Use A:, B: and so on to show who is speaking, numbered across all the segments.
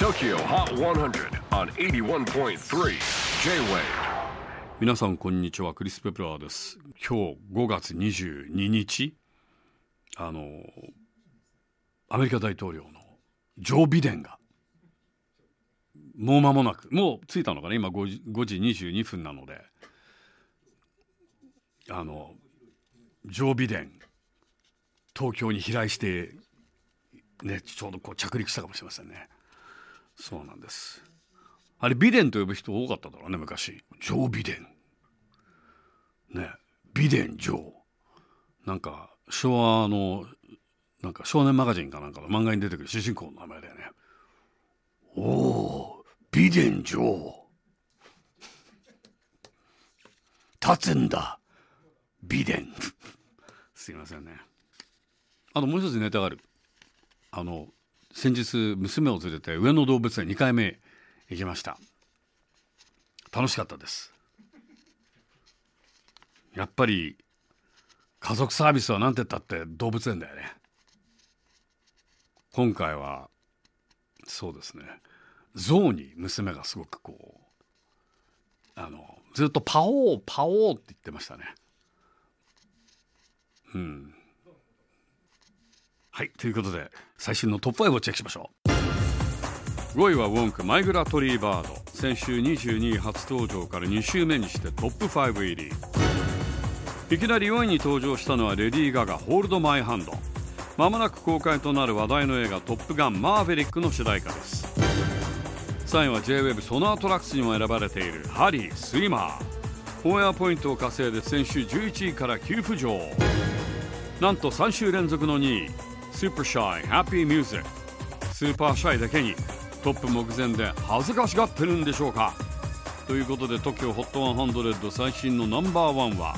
A: TOKYO HOT 100 on 81.3 J-WAVE。
B: 皆さんこんにちは、クリス・ペプラーです。今日5月22日、アメリカ大統領のジョー・ビデンがもう間もなく、もう着いたのかな、今 5時22分なので、ジョー・ビデン東京に飛来してね、ちょうどこう着陸したかもしれませんね。そうなんです。あれビデンと呼ぶ人多かっただろうね、昔。ジョー・ビデンね、ビデン・ジョー、なんか昭和のなんか少年マガジンかなんかの漫画に出てくる主人公の名前だよね。おお、ビデン・ジョー立つんだビデンすいませんね。もう一つネタがある。先日娘を連れて上野動物園2回目行きました。楽しかったです。やっぱり家族サービスはなんて言ったって動物園だよね。今回はそうですね、象に娘がすごくこうずっとパオーパオーって言ってましたね。はい、ということで最新のトップ5をチェックしましょう。5位はウォンク、マイグラトリーバード。先週22位初登場から2週目にしてトップ5入り。いきなり4位に登場したのはレディー・ガガ、ホールド・マイ・ハンド。まもなく公開となる話題の映画トップガンマーヴェリックの主題歌です。3位は J-WAVE ソナートラックスにも選ばれているハリー・スイマー。オンエアポイントを稼いで先週11位から急浮上。なんと3週連続の2位、スーパーシャイ、ハッピーミュージック。スーパーシャイだけにトップ目前で恥ずかしがってるんでしょうか。ということで TOKYO HOT 100最新のナンバー1は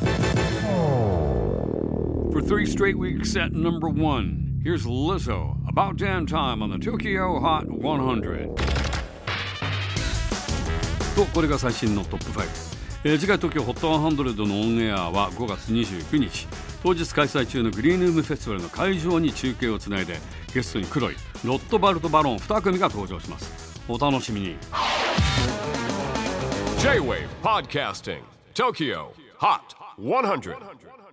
B: For 3 straight weeks at number 1, here's Lizzo, About Damn Time on the TOKYO HOT 100。 とこれが最新のトップ5。次回 TOKYO HOT 100のオンエアは5月29日、当日開催中のグリーンルームフェスティバルの会場に中継をつないで、ゲストに黒いロットバルト・バロン2組が登場します。お楽しみに。
A: J-WAVE PODCASTING TOKYO HOT 100